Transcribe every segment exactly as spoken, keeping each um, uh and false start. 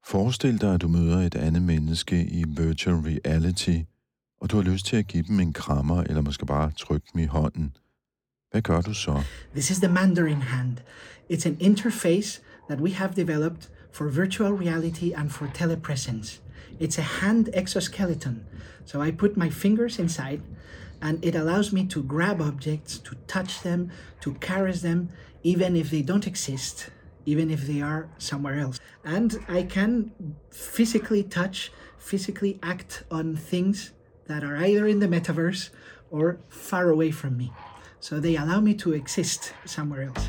Forestil dig, at du møder et andet menneske i virtual reality, og du har lyst til at give dem en krammer, eller måske bare trykke dem i hånden. Hvad gør du så? This is the Mandarin hand. It's an interface that we have developed for virtual reality and for telepresence. It's a hand exoskeleton. So I put my fingers inside, and it allows me to grab objects, to touch them, to caress them, even if they don't exist, even if they are somewhere else. And I can physically touch, physically act on things that are either in the metaverse or far away from me. So they allow me to exist somewhere else.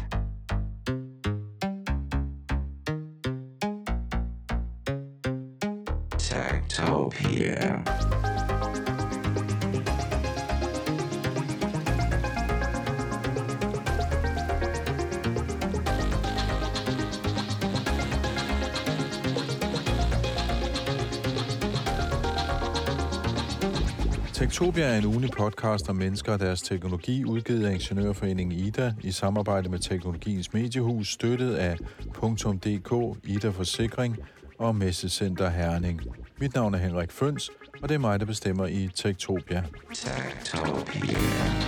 Techtopia. Techtopia er en ugenlig podcast om mennesker og deres teknologi, udgivet af Ingeniørforeningen Ida i samarbejde med Teknologiens Mediehus, støttet af punktum d k, Ida Forsikring og Messecenter Herning. Mit navn er Henrik Føns, og det er mig, der bestemmer i Techtopia. Techtopia.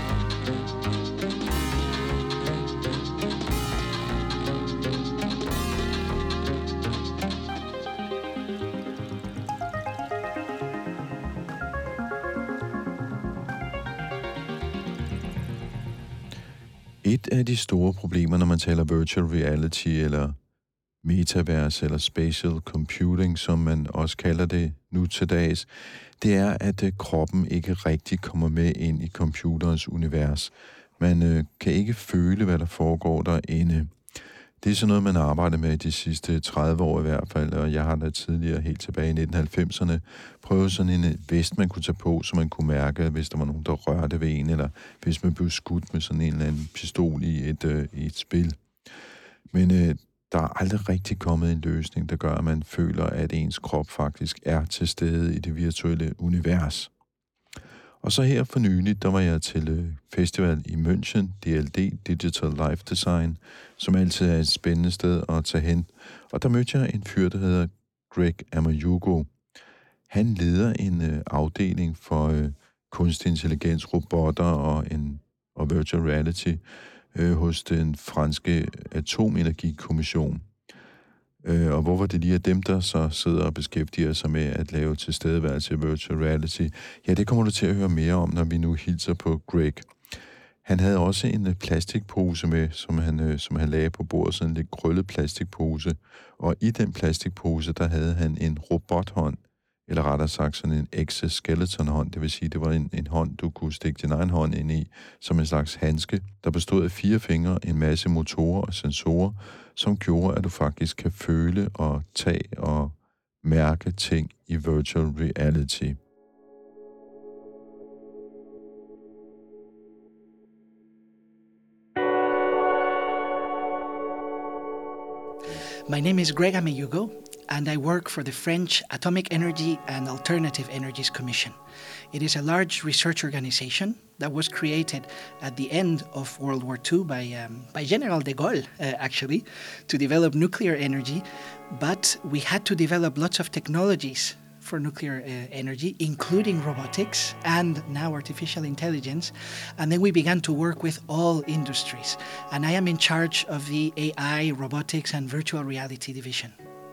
Et af de store problemer, når man taler virtual reality eller metaverse eller spatial computing, som man også kalder det nu til dags, det er, at kroppen ikke rigtig kommer med ind i computerens univers. Man øh, kan ikke føle, hvad der foregår derinde. Det er sådan noget, man har arbejdet med de sidste tredive år i hvert fald, og jeg har da tidligere, helt tilbage i nitten halvfemserne, prøvet sådan en vest, man kunne tage på, så man kunne mærke, hvis der var nogen, der rørte ved en, eller hvis man blev skudt med sådan en eller anden pistol i et, øh, i et spil. Men øh, der er aldrig rigtig kommet en løsning, der gør, at man føler, at ens krop faktisk er til stede i det virtuelle univers. Og så her for nylig, der var jeg til festival i München, D L D, Digital Life Design, som altid er et spændende sted at tage hen. Og der mødte jeg en fyr, der hedder Greg Amayugo. Han leder en øh, afdeling for øh, kunstig intelligens, robotter og, en, og virtual reality øh, hos den franske atomenergikommission. Øh, og hvorfor det lige er dem, der så sidder og beskæftiger sig med at lave tilstedeværelse i virtual reality, ja, det kommer du til at høre mere om, når vi nu hilser på Greg. Han havde også en plastikpose med, som han, øh, som han lagde på bordet, sådan en lidt krøllet plastikpose. Og i den plastikpose, der havde han en robothånd, eller rettere sagt sådan en exoskeleton-hånd, det vil sige, det var en, en hånd, du kunne stikke din egen hånd ind i, som en slags handske, der bestod af fire fingre, en masse motorer og sensorer, som gjorde, at du faktisk kan føle og tage og mærke ting i virtual reality. My name is Greg Amayugo, and I work for the French Atomic Energy and Alternative Energies Commission. It is a large research organization that was created at the end of World War Two by, um, by General de Gaulle, uh, actually, to develop nuclear energy. But we had to develop lots of technologies for nuclear uh, energy, including robotics and now artificial intelligence. And then we began to work with all industries. And I am in charge of the A I, robotics, and virtual reality division.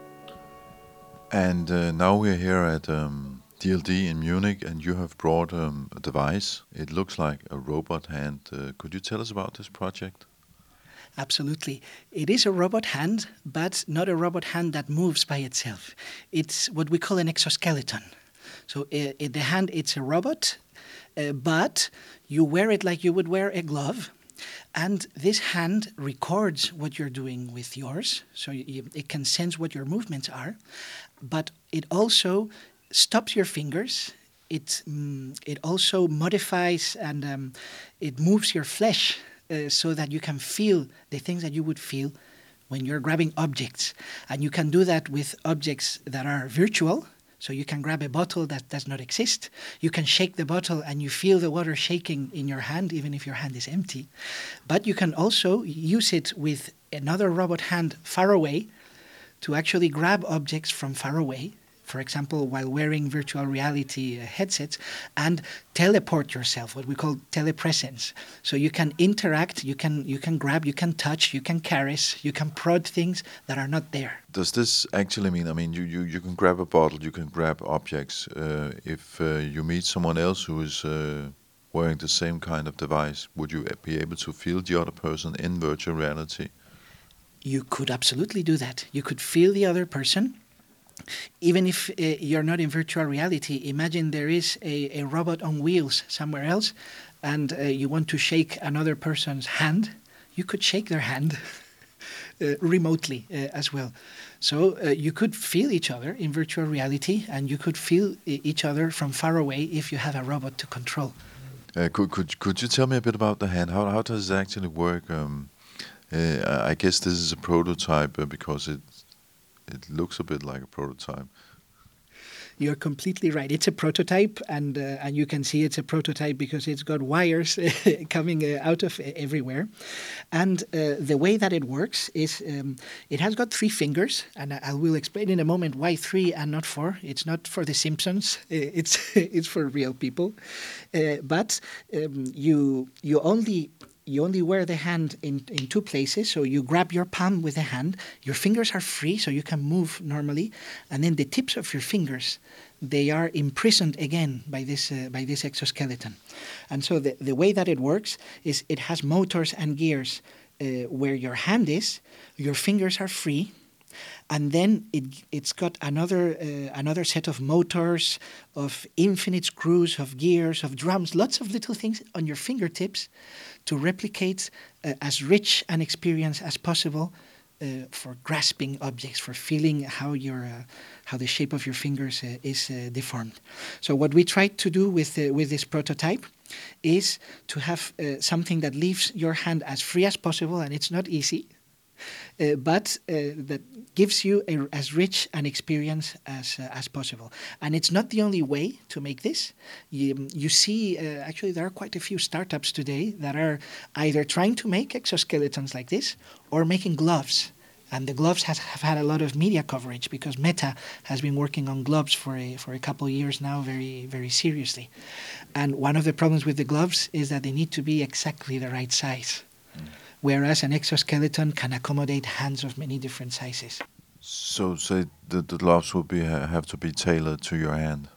And uh, now we're here at um, D L D in Munich, and you have brought um, a device. It looks like a robot hand. Uh, could you tell us about this project? Absolutely. It is a robot hand, but not a robot hand that moves by itself. It's what we call an exoskeleton. So uh, in the hand, it's a robot, uh, but you wear it like you would wear a glove. And this hand records what you're doing with yours, so you, it can sense what your movements are, but it also stops your fingers. It, um, it also modifies and um, it moves your flesh Uh, so that you can feel the things that you would feel when you're grabbing objects. And you can do that with objects that are virtual. So you can grab a bottle that does not exist. You can shake the bottle and you feel the water shaking in your hand, even if your hand is empty. But you can also use it with another robot hand far away to actually grab objects from far away, for example, while wearing virtual reality uh, headsets, and teleport yourself, what we call telepresence. So you can interact, you can you can grab, you can touch, you can caress, you can prod things that are not there. Does this actually mean, I mean, you, you, you can grab a bottle, you can grab objects. Uh, if uh, you meet someone else who is uh, wearing the same kind of device, would you be able to feel the other person in virtual reality? You could absolutely do that. You could feel the other person. Even if uh, you're not in virtual reality, imagine there is a, a robot on wheels somewhere else, and uh, you want to shake another person's hand. You could shake their hand uh, remotely uh, as well. So uh, you could feel each other in virtual reality, and you could feel e- each other from far away if you have a robot to control. Uh, could, could, could you tell me a bit about the hand? How, how does it actually work? Um, uh, I guess this is a prototype uh, because it it looks a bit like a prototype. You're completely right. It's a prototype, and uh, and you can see it's a prototype because it's got wires coming uh, out of everywhere. And uh, the way that it works is um, it has got three fingers, and I, I will explain in a moment why three and not four. It's not for The Simpsons. It's it's for real people. Uh, but um, you you only. You only wear the hand in, in two places, so you grab your palm with the hand. Your fingers are free, so you can move normally, and then the tips of your fingers, they are imprisoned again by this uh, by this exoskeleton. And so the, the way that it works is it has motors and gears uh, where your hand is, your fingers are free, and then it, it's got another uh, another set of motors, of infinite screws, of gears, of drums, lots of little things on your fingertips to replicate uh, as rich an experience as possible uh, for grasping objects, for feeling how your uh, how the shape of your fingers uh, is uh, deformed. So what we tried to do with uh, with this prototype is to have uh, something that leaves your hand as free as possible, and it's not easy. Uh, but uh, that gives you a, as rich an experience as uh, as possible. And it's not the only way to make this. You, you see, uh, actually, there are quite a few startups today that are either trying to make exoskeletons like this or making gloves. And the gloves has, have had a lot of media coverage because Meta has been working on gloves for a, for a couple of years now very, very seriously. And one of the problems with the gloves is that they need to be exactly the right size. Mm. Whereas an exoskeleton can accommodate hands of many different sizes. So, say the, the gloves will be have to be tailored to your hand.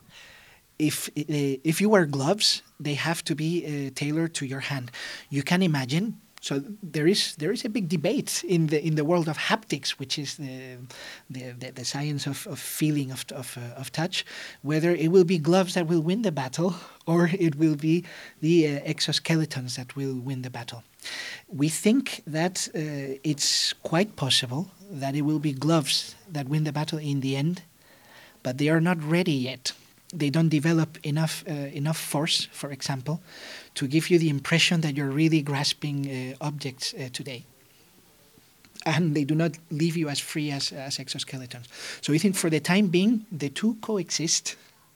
If uh, if you wear gloves, they have to be uh, tailored to your hand. You can imagine. So there is there is a big debate in the in the world of haptics, which is the the, the, the science of, of feeling of of, uh, of touch, whether it will be gloves that will win the battle or it will be the uh, exoskeletons that will win the battle. We think that uh, it's quite possible that it will be gloves that win the battle in the end, but they are not ready yet. They don't develop enough uh, enough force, for example, to give you the impression that you're really grasping uh, objects uh, today. And they do not leave you as free as, as exoskeletons. So we think for the time being, the two coexist.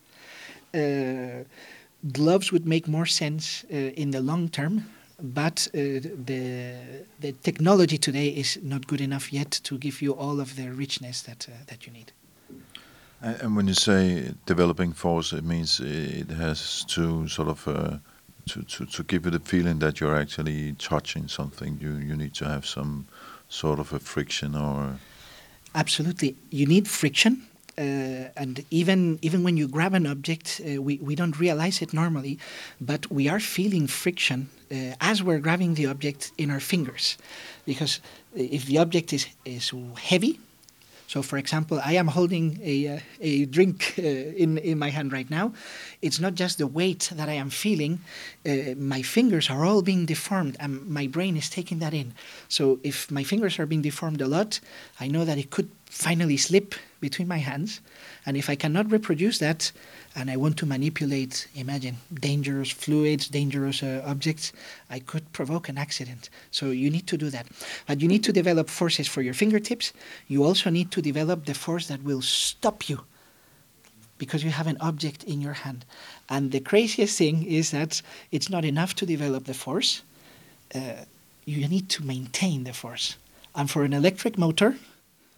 Uh, gloves would make more sense uh, in the long term, but uh, the the technology today is not good enough yet to give you all of the richness that uh, that you need. And when you say developing force, it means it has to sort of uh, to, to, to give you the feeling that you're actually touching something. You you need to have some sort of a friction or. Absolutely, you need friction, uh, and even even when you grab an object, uh, we we don't realize it normally, but we are feeling friction uh, as we're grabbing the object in our fingers, because if the object is is heavy. So, for example, I am holding a uh, a drink uh, in in my hand right now. It's not just the weight that I am feeling. Uh, my fingers are all being deformed, and my brain is taking that in. So, if my fingers are being deformed a lot, I know that it could finally slip between my hands. And if I cannot reproduce that, and I want to manipulate, imagine, dangerous fluids, dangerous uh, objects, I could provoke an accident. So you need to do that. But you need to develop forces for your fingertips. You also need to develop the force that will stop you because you have an object in your hand. And the craziest thing is that it's not enough to develop the force. Uh, you need to maintain the force. And for an electric motor,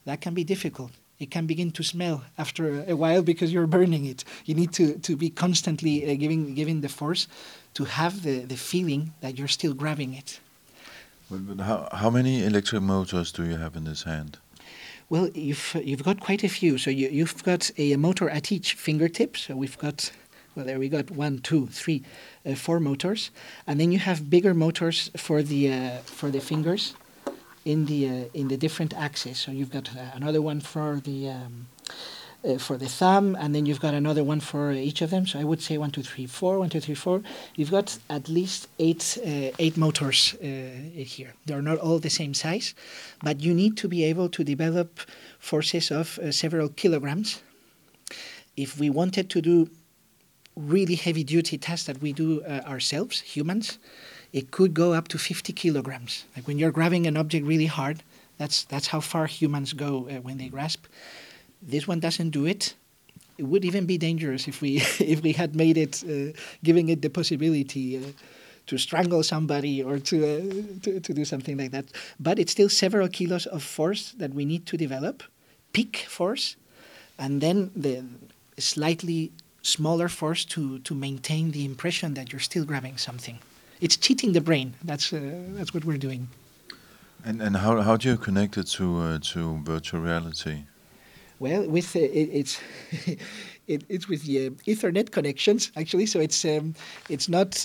that can be difficult. It can begin to smell after a while because you're burning it. You need to, to be constantly uh, giving giving the force to have the, the feeling that you're still grabbing it. But, but how, how many electric motors do you have in this hand? Well, you've you've got quite a few. So you, you've got a motor at each fingertip. So we've got, well, there we got one, two, three, uh, four motors, and then you have bigger motors for the uh, for the fingers in the uh, in the different axes. So you've got uh, another one for the um, uh, for the thumb, and then you've got another one for each of them. So I would say one, two, three, four, one, two, three, four. You've got at least eight uh, eight motors uh, here. They're not all the same size, but you need to be able to develop forces of uh, several kilograms. If we wanted to do really heavy duty tasks that we do uh, ourselves, humans, it could go up to fifty kilograms. Like when you're grabbing an object really hard, that's that's how far humans go uh, when they grasp. This one doesn't do it. It would even be dangerous if we if we had made it, uh, giving it the possibility uh, to strangle somebody or to, uh, to to do something like that. But it's still several kilos of force that we need to develop, peak force, and then the slightly smaller force to to maintain the impression that you're still grabbing something. It's cheating the brain. That's uh, that's what we're doing. And and how how do you connect it to uh, to virtual reality? Well, with uh, it, it's it, it's with the uh, Ethernet connections actually. So it's um, it's not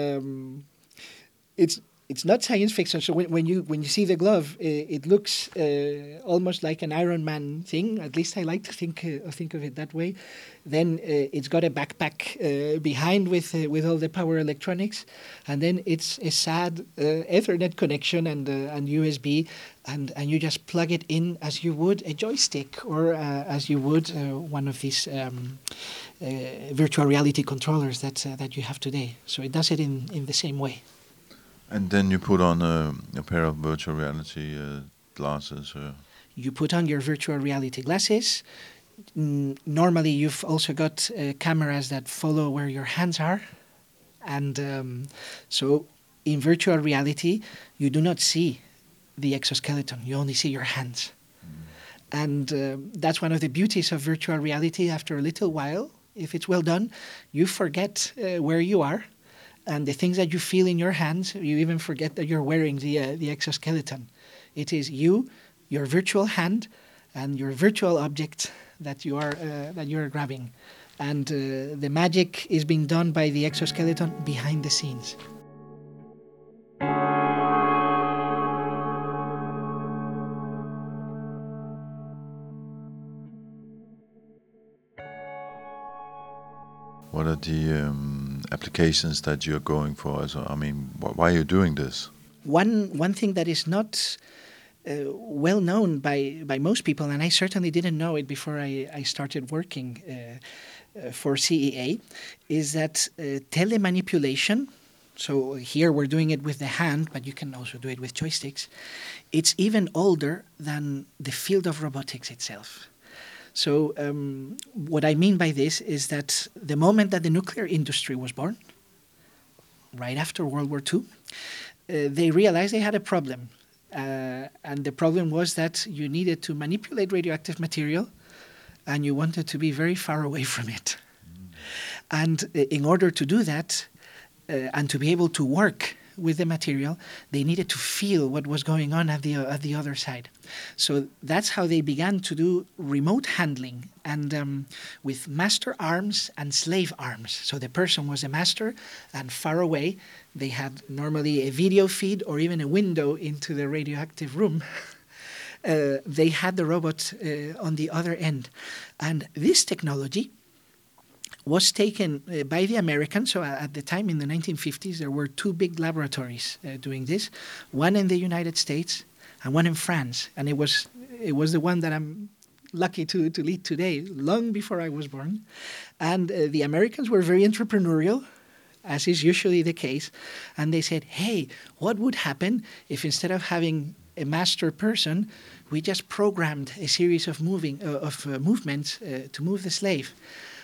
um, it's it's not science fiction. So when, when you when you see the glove, uh, it looks uh, almost like an Iron Man thing. At least I like to think uh, think of it that way. Then uh, it's got a backpack uh, behind with uh, with all the power electronics, and then it's a sad uh, Ethernet connection and uh, and U S B, and and you just plug it in as you would a joystick or uh, as you would uh, one of these um, uh, virtual reality controllers that uh, that you have today. So it does it in in the same way. And then you put on a, a pair of virtual reality uh, glasses. Uh. You put on your virtual reality glasses. N- normally, you've also got uh, cameras that follow where your hands are. And um, so in virtual reality, you do not see the exoskeleton. You only see your hands. Mm. And uh, that's one of the beauties of virtual reality. After a little while, if it's well done, you forget uh, where you are. And the things that you feel in your hands, you even forget that you're wearing the uh, the exoskeleton. It is you, your virtual hand, and your virtual object that you are uh, that you are grabbing, and uh, the magic is being done by the exoskeleton behind the scenes. What are the um, applications that you're going for? So, I mean, wh- why are you doing this? One one thing that is not uh, well known by, by most people, and I certainly didn't know it before I, I started working uh, uh, for C E A, is that uh, telemanipulation, so here we're doing it with the hand, but you can also do it with joysticks, it's even older than the field of robotics itself. So um, what I mean by this is that the moment that the nuclear industry was born, right after World War Two, uh, they realized they had a problem. Uh, and the problem was that you needed to manipulate radioactive material and you wanted to be very far away from it. Mm. And uh, in order to do that uh, and to be able to work with the material, they needed to feel what was going on at the uh, at the other side. So that's how they began to do remote handling, and um, with master arms and slave arms. So the person was a master, and far away they had normally a video feed or even a window into the radioactive room. uh, they had the robot uh, on the other end. And this technology was taken uh, by the Americans. So uh, at the time, in the nineteen fifties, there were two big laboratories uh, doing this, one in the United States and one in France. And it was it was the one that I'm lucky to, to lead today, long before I was born. And uh, the Americans were very entrepreneurial, as is usually the case. And they said, hey, what would happen if instead of having a master person, we just programmed a series of moving uh, of uh, movements uh, to move the slave?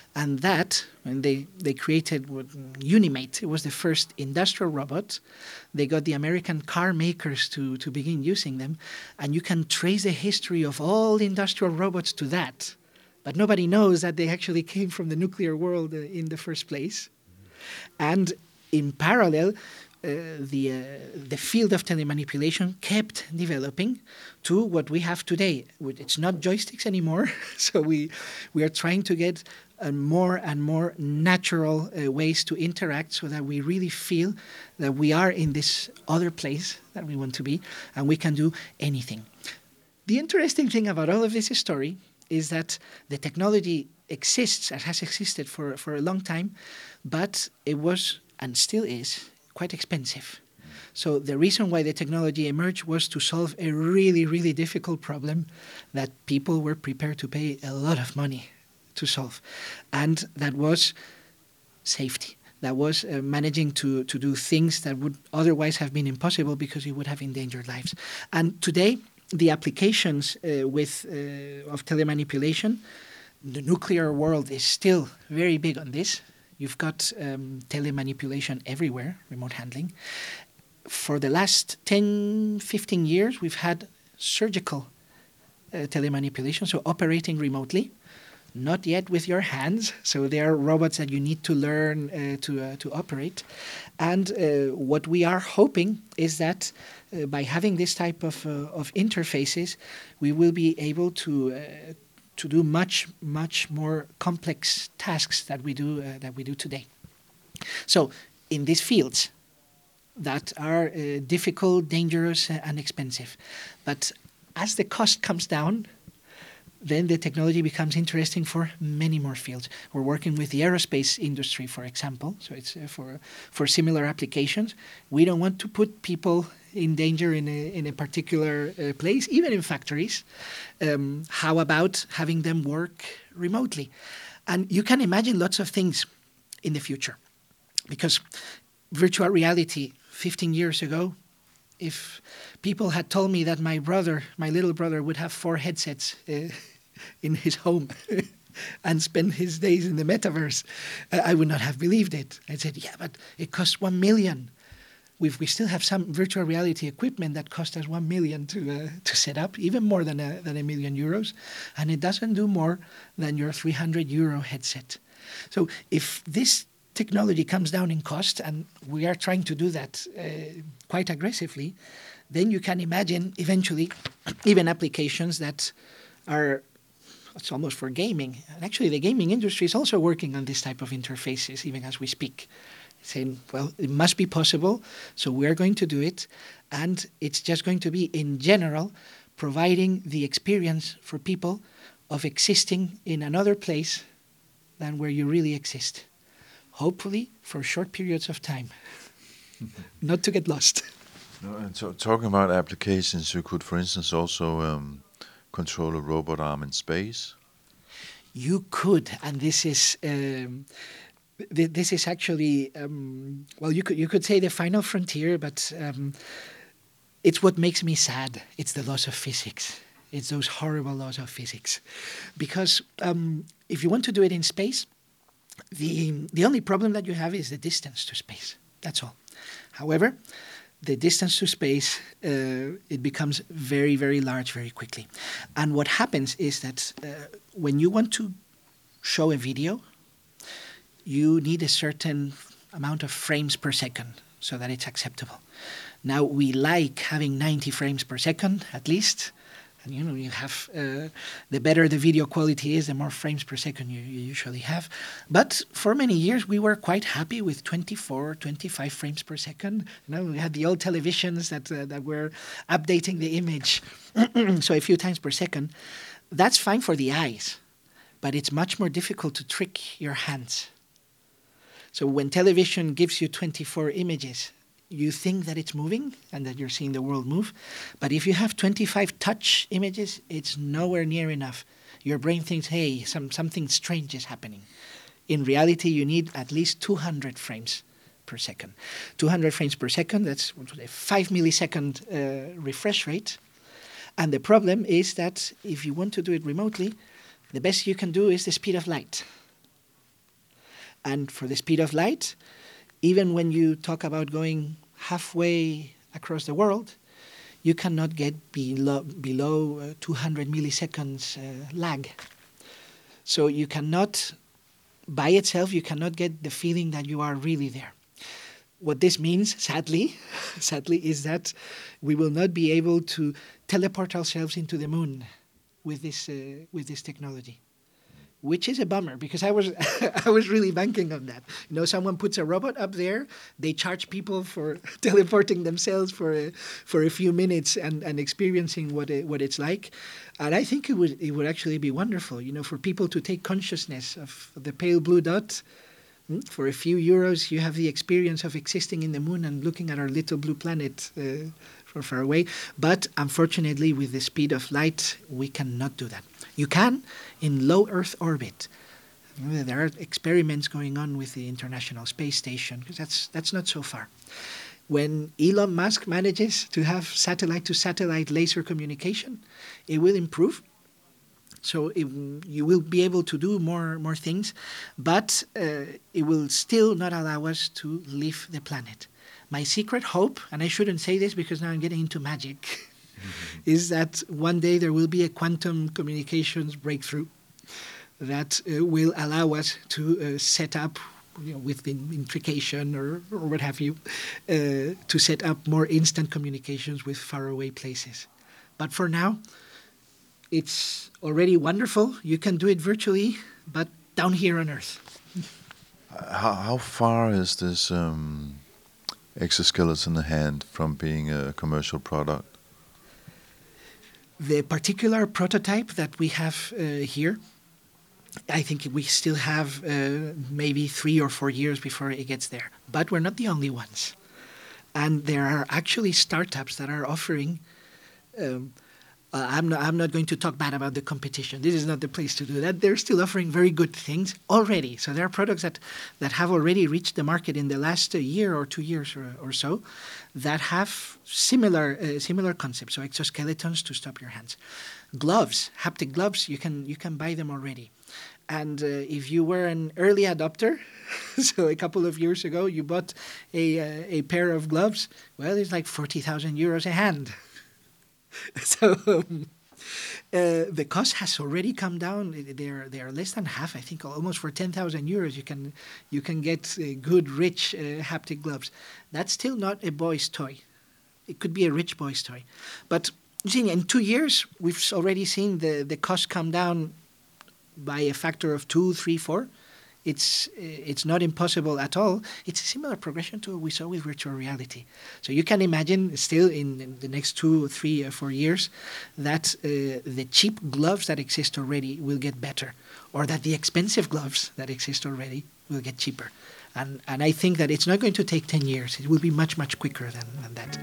And that, when they, they created what, Unimate, it was the first industrial robot. They got the American car makers to, to begin using them. And you can trace the history of all the industrial robots to that. But nobody knows that they actually came from the nuclear world uh, in the first place. And in parallel, Uh, the uh, the field of telemanipulation kept developing to what we have today. It's not joysticks anymore, so we we are trying to get uh, more and more natural uh, ways to interact, so that we really feel that we are in this other place that we want to be, and we can do anything. The interesting thing about all of this story is that the technology exists and has existed for for a long time, but it was and still is quite expensive. So the reason why the technology emerged was to solve a really, really difficult problem that people were prepared to pay a lot of money to solve. And that was safety. That was uh, managing to, to do things that would otherwise have been impossible because it would have endangered lives. And today, the applications uh, with uh, of telemanipulation, the nuclear world is still very big on this. You've got um, telemanipulation everywhere, remote handling. For the last ten, fifteen years, we've had surgical uh, telemanipulation, so operating remotely, not yet with your hands. So there are robots that you need to learn uh, to, uh, to operate. And uh, what we are hoping is that uh, by having this type of, uh, of interfaces, we will be able to uh, to do much, much more complex tasks that we do uh, that we do today. So, in these fields that are uh, difficult, dangerous, uh, and expensive, but as the cost comes down, then the technology becomes interesting for many more fields. We're working with the aerospace industry, for example, so it's uh, for for similar applications. We don't want to put people in danger in a, in a particular uh, place, even in factories. Um, how about having them work remotely? And you can imagine lots of things in the future, because virtual reality fifteen years ago, if people had told me that my brother, my little brother, would have four headsets uh, in his home and spend his days in the metaverse, uh, I would not have believed it. I said, yeah, but it costs one million. We've, we still have some virtual reality equipment that cost us one million to uh, to set up, even more than a, than a million euros, and it doesn't do more than your three hundred euro headset. So if this technology comes down in cost, and we are trying to do that uh, quite aggressively, then you can imagine eventually even applications that are, it's almost for gaming. And actually the gaming industry is also working on this type of interfaces even as we speak, saying, well, it must be possible, so we're going to do it, and it's just going to be, in general, providing the experience for people of existing in another place than where you really exist. Hopefully for short periods of time, not to get lost. No, and so, talking about applications, you could, for instance, also um, control a robot arm in space. You could, and this is um, th- this is actually um, well, you could you could say the final frontier, but um, it's what makes me sad. It's the laws of physics. It's those horrible laws of physics, because um, if you want to do it in space, the the only problem that you have is the distance to space. That's all. However, the distance to space, uh, it becomes very, very large very quickly. And what happens is that uh, when you want to show a video, you need a certain amount of frames per second so that it's acceptable. Now, we like having ninety frames per second, at least. And, you know, you have, uh, the better the video quality is, the more frames per second you, you usually have. But for many years, we were quite happy with twenty-four, twenty-five frames per second. You know, we had the old televisions that, uh, that were updating the image, so a few times per second. That's fine for the eyes, but it's much more difficult to trick your hands. So when television gives you twenty-four images, you think that it's moving and that you're seeing the world move. But if you have twenty-five touch images, it's nowhere near enough. Your brain thinks, hey, some, something strange is happening. In reality, you need at least two hundred frames per second. two hundred frames per second, that's a five millisecond uh, refresh rate. And the problem is that if you want to do it remotely, the best you can do is the speed of light. And for the speed of light, even when you talk about going halfway across the world, you cannot get below, below uh, two hundred milliseconds uh, lag. So you cannot, by itself, you cannot get the feeling that you are really there. What this means, sadly, sadly, is that we will not be able to teleport ourselves into the moon with this uh, with this technology, which is a bummer because I was I was really banking on that. You know, someone puts a robot up there, they charge people for teleporting themselves for a, for a few minutes and, and experiencing what it, what it's like, and I think it would it would actually be wonderful. You know, for people to take consciousness of the pale blue dot. For a few euros, you have the experience of existing in the moon and looking at our little blue planet uh, from far away. But unfortunately, with the speed of light, we cannot do that. You can in low Earth orbit. There are experiments going on with the International Space Station, because that's, that's not so far. When Elon Musk manages to have satellite-to-satellite laser communication, it will improve. So it, you will be able to do more more things, but uh, it will still not allow us to leave the planet. My secret hope, and I shouldn't say this because now I'm getting into magic, mm-hmm. is that one day there will be a quantum communications breakthrough that uh, will allow us to uh, set up, you know, with the intrication or, or what have you, uh, to set up more instant communications with faraway places. But for now, it's already wonderful. You can do it virtually, but down here on Earth. How, how far is this um, exoskeleton hand from being a commercial product? The particular prototype that we have uh, here, I think we still have uh, maybe three or four years before it gets there. But we're not the only ones. And there are actually startups that are offering... Um, Uh, I'm not, I'm not going to talk bad about the competition. This is not the place to do that. They're still offering very good things already. So there are products that, that have already reached the market in the last uh, year or two years or, or so that have similar uh, similar concepts. So exoskeletons to stop your hands. Gloves, haptic gloves, you can you can buy them already. And uh, if you were an early adopter, so a couple of years ago you bought a uh, a pair of gloves, well, it's like forty thousand euros a hand. So um, uh, the cost has already come down. They're they are less than half. I think almost for ten thousand euros you can you can get uh, good, rich uh, haptic gloves. That's still not a boy's toy. It could be a rich boy's toy, but you see, in two years we've already seen the the cost come down by a factor of two, three, four. It's it's not impossible at all. It's a similar progression to what we saw with virtual reality. So you can imagine still in, in the next two, three, or four years that uh, the cheap gloves that exist already will get better, or that the expensive gloves that exist already will get cheaper. And and I think that it's not going to take ten years. It will be much, much quicker than, than that.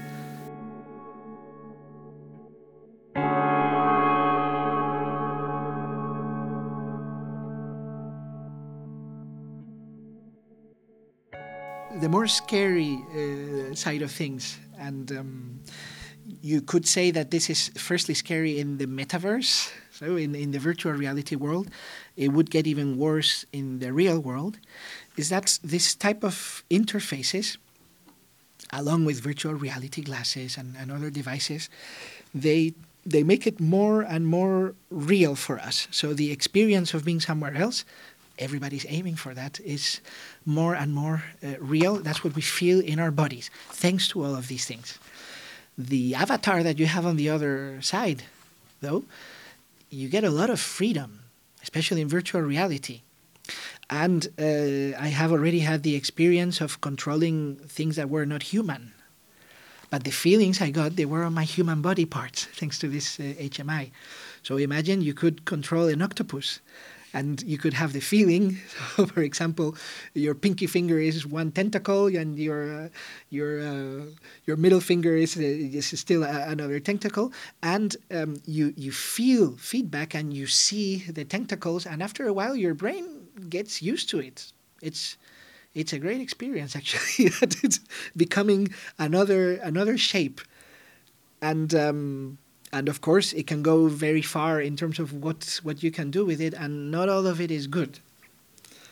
The more scary uh, side of things, and um, you could say that this is firstly scary in the metaverse, so in, in the virtual reality world. It would get even worse in the real world, is that this type of interfaces, along with virtual reality glasses and, and other devices, they they make it more and more real for us. So the experience of being somewhere else, everybody's aiming for that, is more and more uh, real. That's what we feel in our bodies, thanks to all of these things. The avatar that you have on the other side, though, you get a lot of freedom, especially in virtual reality. And uh, I have already had the experience of controlling things that were not human. But the feelings I got, they were on my human body parts, thanks to this uh, H M I. So imagine you could control an octopus. And you could have the feeling, so for example, your pinky finger is one tentacle, and your uh, your uh, your middle finger is uh, is still a, another tentacle, and um, you you feel feedback and you see the tentacles, and after a while your brain gets used to it. It's it's a great experience actually. That it's becoming another another shape, and. Um, And of course, it can go very far in terms of what what you can do with it, and not all of it is good.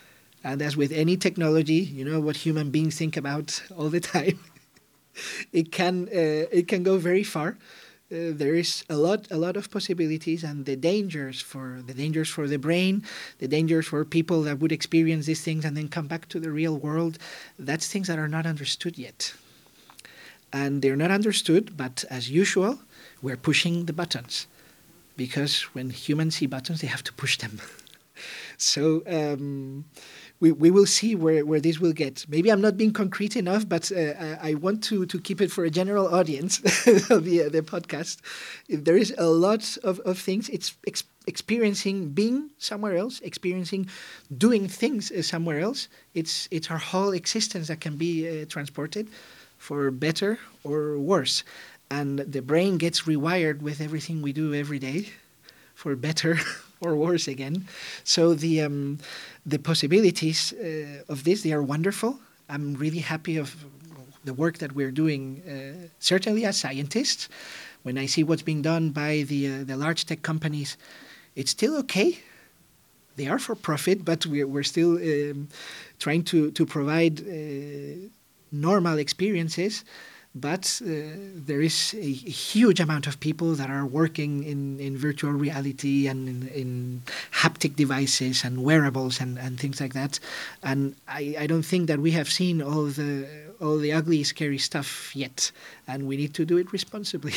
And as with any technology, you know what human beings think about all the time. it can uh, it can go very far. Uh, there is a lot a lot of possibilities, and the dangers for the dangers for the brain, the dangers for people that would experience these things and then come back to the real world. That's things that are not understood yet, and they're not understood. But as usual, we're pushing the buttons, because when humans see buttons, they have to push them. so. Um, We, we will see where, where this will get. Maybe I'm not being concrete enough, but uh, I, I want to, to keep it for a general audience of the, uh, the podcast. If there is a lot of, of things. It's ex- experiencing being somewhere else, experiencing doing things uh, somewhere else. It's, it's our whole existence that can be uh, transported for better or worse. And the brain gets rewired with everything we do every day for better or worse again. So the um, the possibilities uh, of this, they are wonderful. I'm really happy of the work that we're doing, uh, certainly as scientists. When I see what's being done by the uh, the large tech companies, it's still okay. They are for profit, but we're, we're still um, trying to, to provide uh, normal experiences. But uh, there is a, a huge amount of people that are working in, in virtual reality and in, in haptic devices and wearables and, and things like that. And I, I don't think that we have seen all the all the ugly, scary stuff yet. And we need to do it responsibly.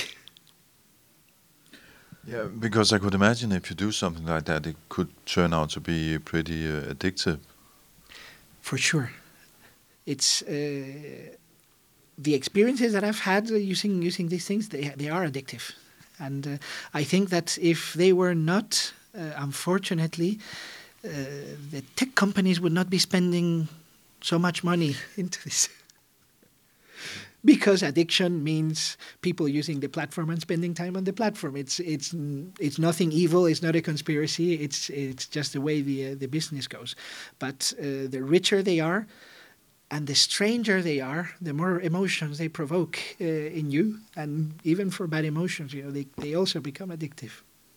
Yeah, because I could imagine if you do something like that, it could turn out to be pretty uh, addictive. For sure. It's... Uh, The experiences that I've had using using these things, they they are addictive, and uh, I think that if they were not, uh, unfortunately, uh, the tech companies would not be spending so much money into this. Because addiction means people using the platform and spending time on the platform. It's it's it's nothing evil. It's not a conspiracy. It's it's just the way the uh, the business goes. But uh, the richer they are, and the stranger they are, the more emotions they provoke uh, in you, and even for bad emotions, you know, they, they also become addictive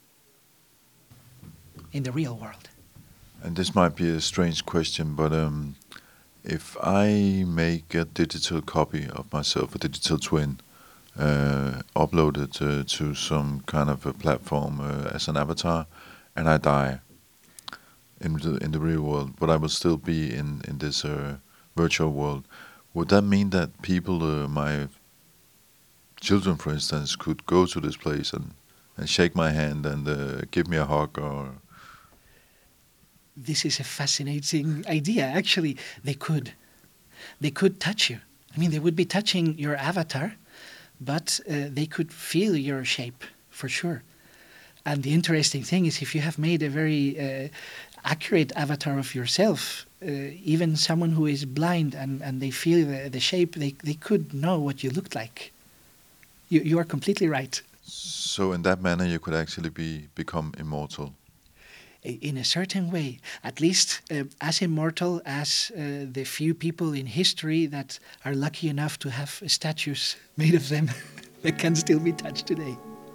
in the real world. And this might be a strange question, but um, if I make a digital copy of myself, a digital twin, uh, upload it uh, to some kind of a platform uh, as an avatar, and I die in the, in the real world, but I will still be in, in this uh, virtual world, would that mean that people, uh, my children, for instance, could go to this place and, and shake my hand and uh, give me a hug? Or this is a fascinating idea. Actually, they could. They could touch you. I mean, they would be touching your avatar, but uh, they could feel your shape, for sure. And the interesting thing is, if you have made a very uh, accurate avatar of yourself, uh, even someone who is blind and, and they feel the, the shape, they, they could know what you looked like. You, you are completely right. So in that manner, you could actually be become immortal? In a certain way, at least uh, as immortal as uh, the few people in history that are lucky enough to have statues made of them that can still be touched today.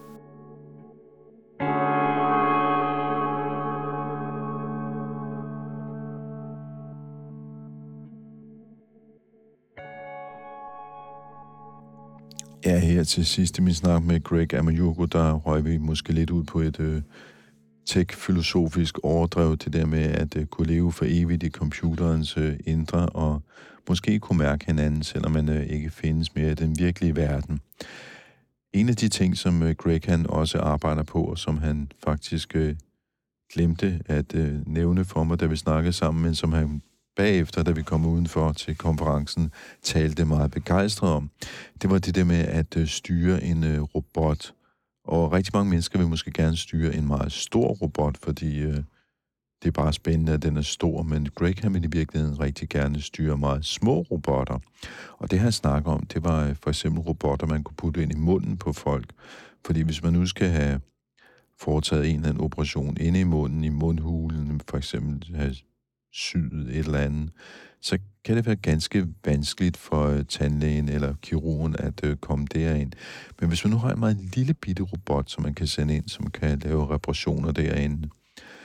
Ja, her til sidst i min snak med Greg Amayugo, der røg vi måske lidt ud på et øh, tech-filosofisk overdrev, det der med at øh, kunne leve for evigt i computerens øh, indre, og måske kunne mærke hinanden, selvom man øh, ikke findes mere i den virkelige verden. En af de ting, som øh, Greg han også arbejder på, og som han faktisk øh, glemte at øh, nævne for mig, da vi snakkede sammen, men som han bagefter, da vi kom udenfor til konferencen, talte meget begejstret om. Det var det der med at øh, styre en øh, robot. Og rigtig mange mennesker vil måske gerne styre en meget stor robot, fordi øh, det er bare spændende, at den er stor. Men Greg han vil i virkeligheden rigtig gerne styre meget små robotter. Og det han snakker om, det var øh, for eksempel robotter, man kunne putte ind i munden på folk. Fordi hvis man nu skal have foretaget en eller anden operation inde i munden, i mundhulen, for eksempel have syet et eller andet, så kan det være ganske vanskeligt for tandlægen eller kirurgen at øh, komme derind. Men hvis man nu har en meget lille bitte robot, som man kan sende ind, som kan lave reparationer derinde,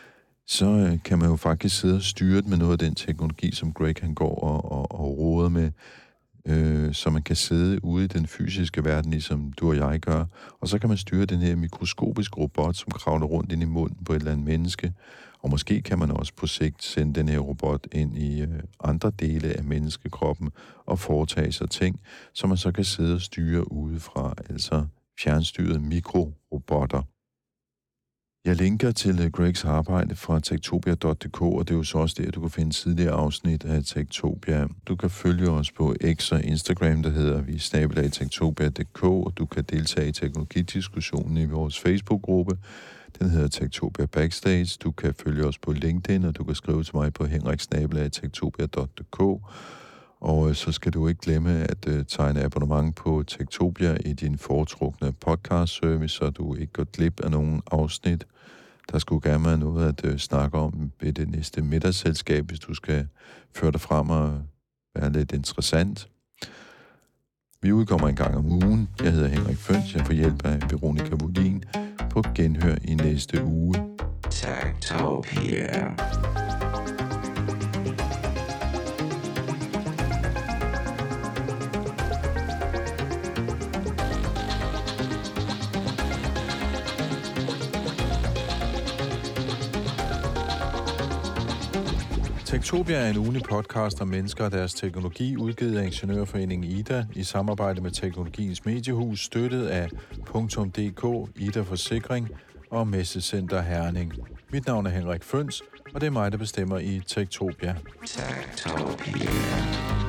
så øh, kan man jo faktisk sidde og styre det med noget af den teknologi, som Greg han går og, og, og råder med, øh, så man kan sidde ude i den fysiske verden, ligesom du og jeg gør, og så kan man styre den her mikroskopiske robot, som kravler rundt ind i munden på et eller andet menneske, og måske kan man også på sigt sende den her robot ind i øh, andre dele af menneskekroppen og foretage sig ting, som man så kan sidde og styre udefra, altså fjernstyrede mikrorobotter. Jeg linker til Gregs arbejde fra techtopia punktum d k, og det er jo så også der, du kan finde tidligere afsnit af Techtopia. Du kan følge os på X og Instagram, der hedder vi snabel-a techtopia punktum d k, og du kan deltage i teknologidiskussionen i vores Facebook-gruppe. Den hedder Techtopia Backstage. Du kan følge os på LinkedIn, og du kan skrive til mig på henrik snabel-a techtopia punktum d k. Og så skal du ikke glemme at uh, tegne abonnement på Techtopia i din foretrukne podcast-service, så du ikke går glip af nogen afsnit. Der skulle gerne være noget at uh, snakke om ved det næste middagsselskab, hvis du skal føre dig frem og være lidt interessant. Vi udkommer en gang om ugen. Jeg hedder Henrik Føns. Jeg får hjælp af Veronica Wollin på genhør i næste uge. Techtopia. Techtopia er en ugenlig podcast om mennesker og deres teknologi, udgivet af Ingeniørforeningen Ida i samarbejde med Teknologiens Mediehus, støttet af .dk, Ida Forsikring og Messecenter Herning. Mit navn er Henrik Føns, og det er mig, der bestemmer i Techtopia. Techtopia.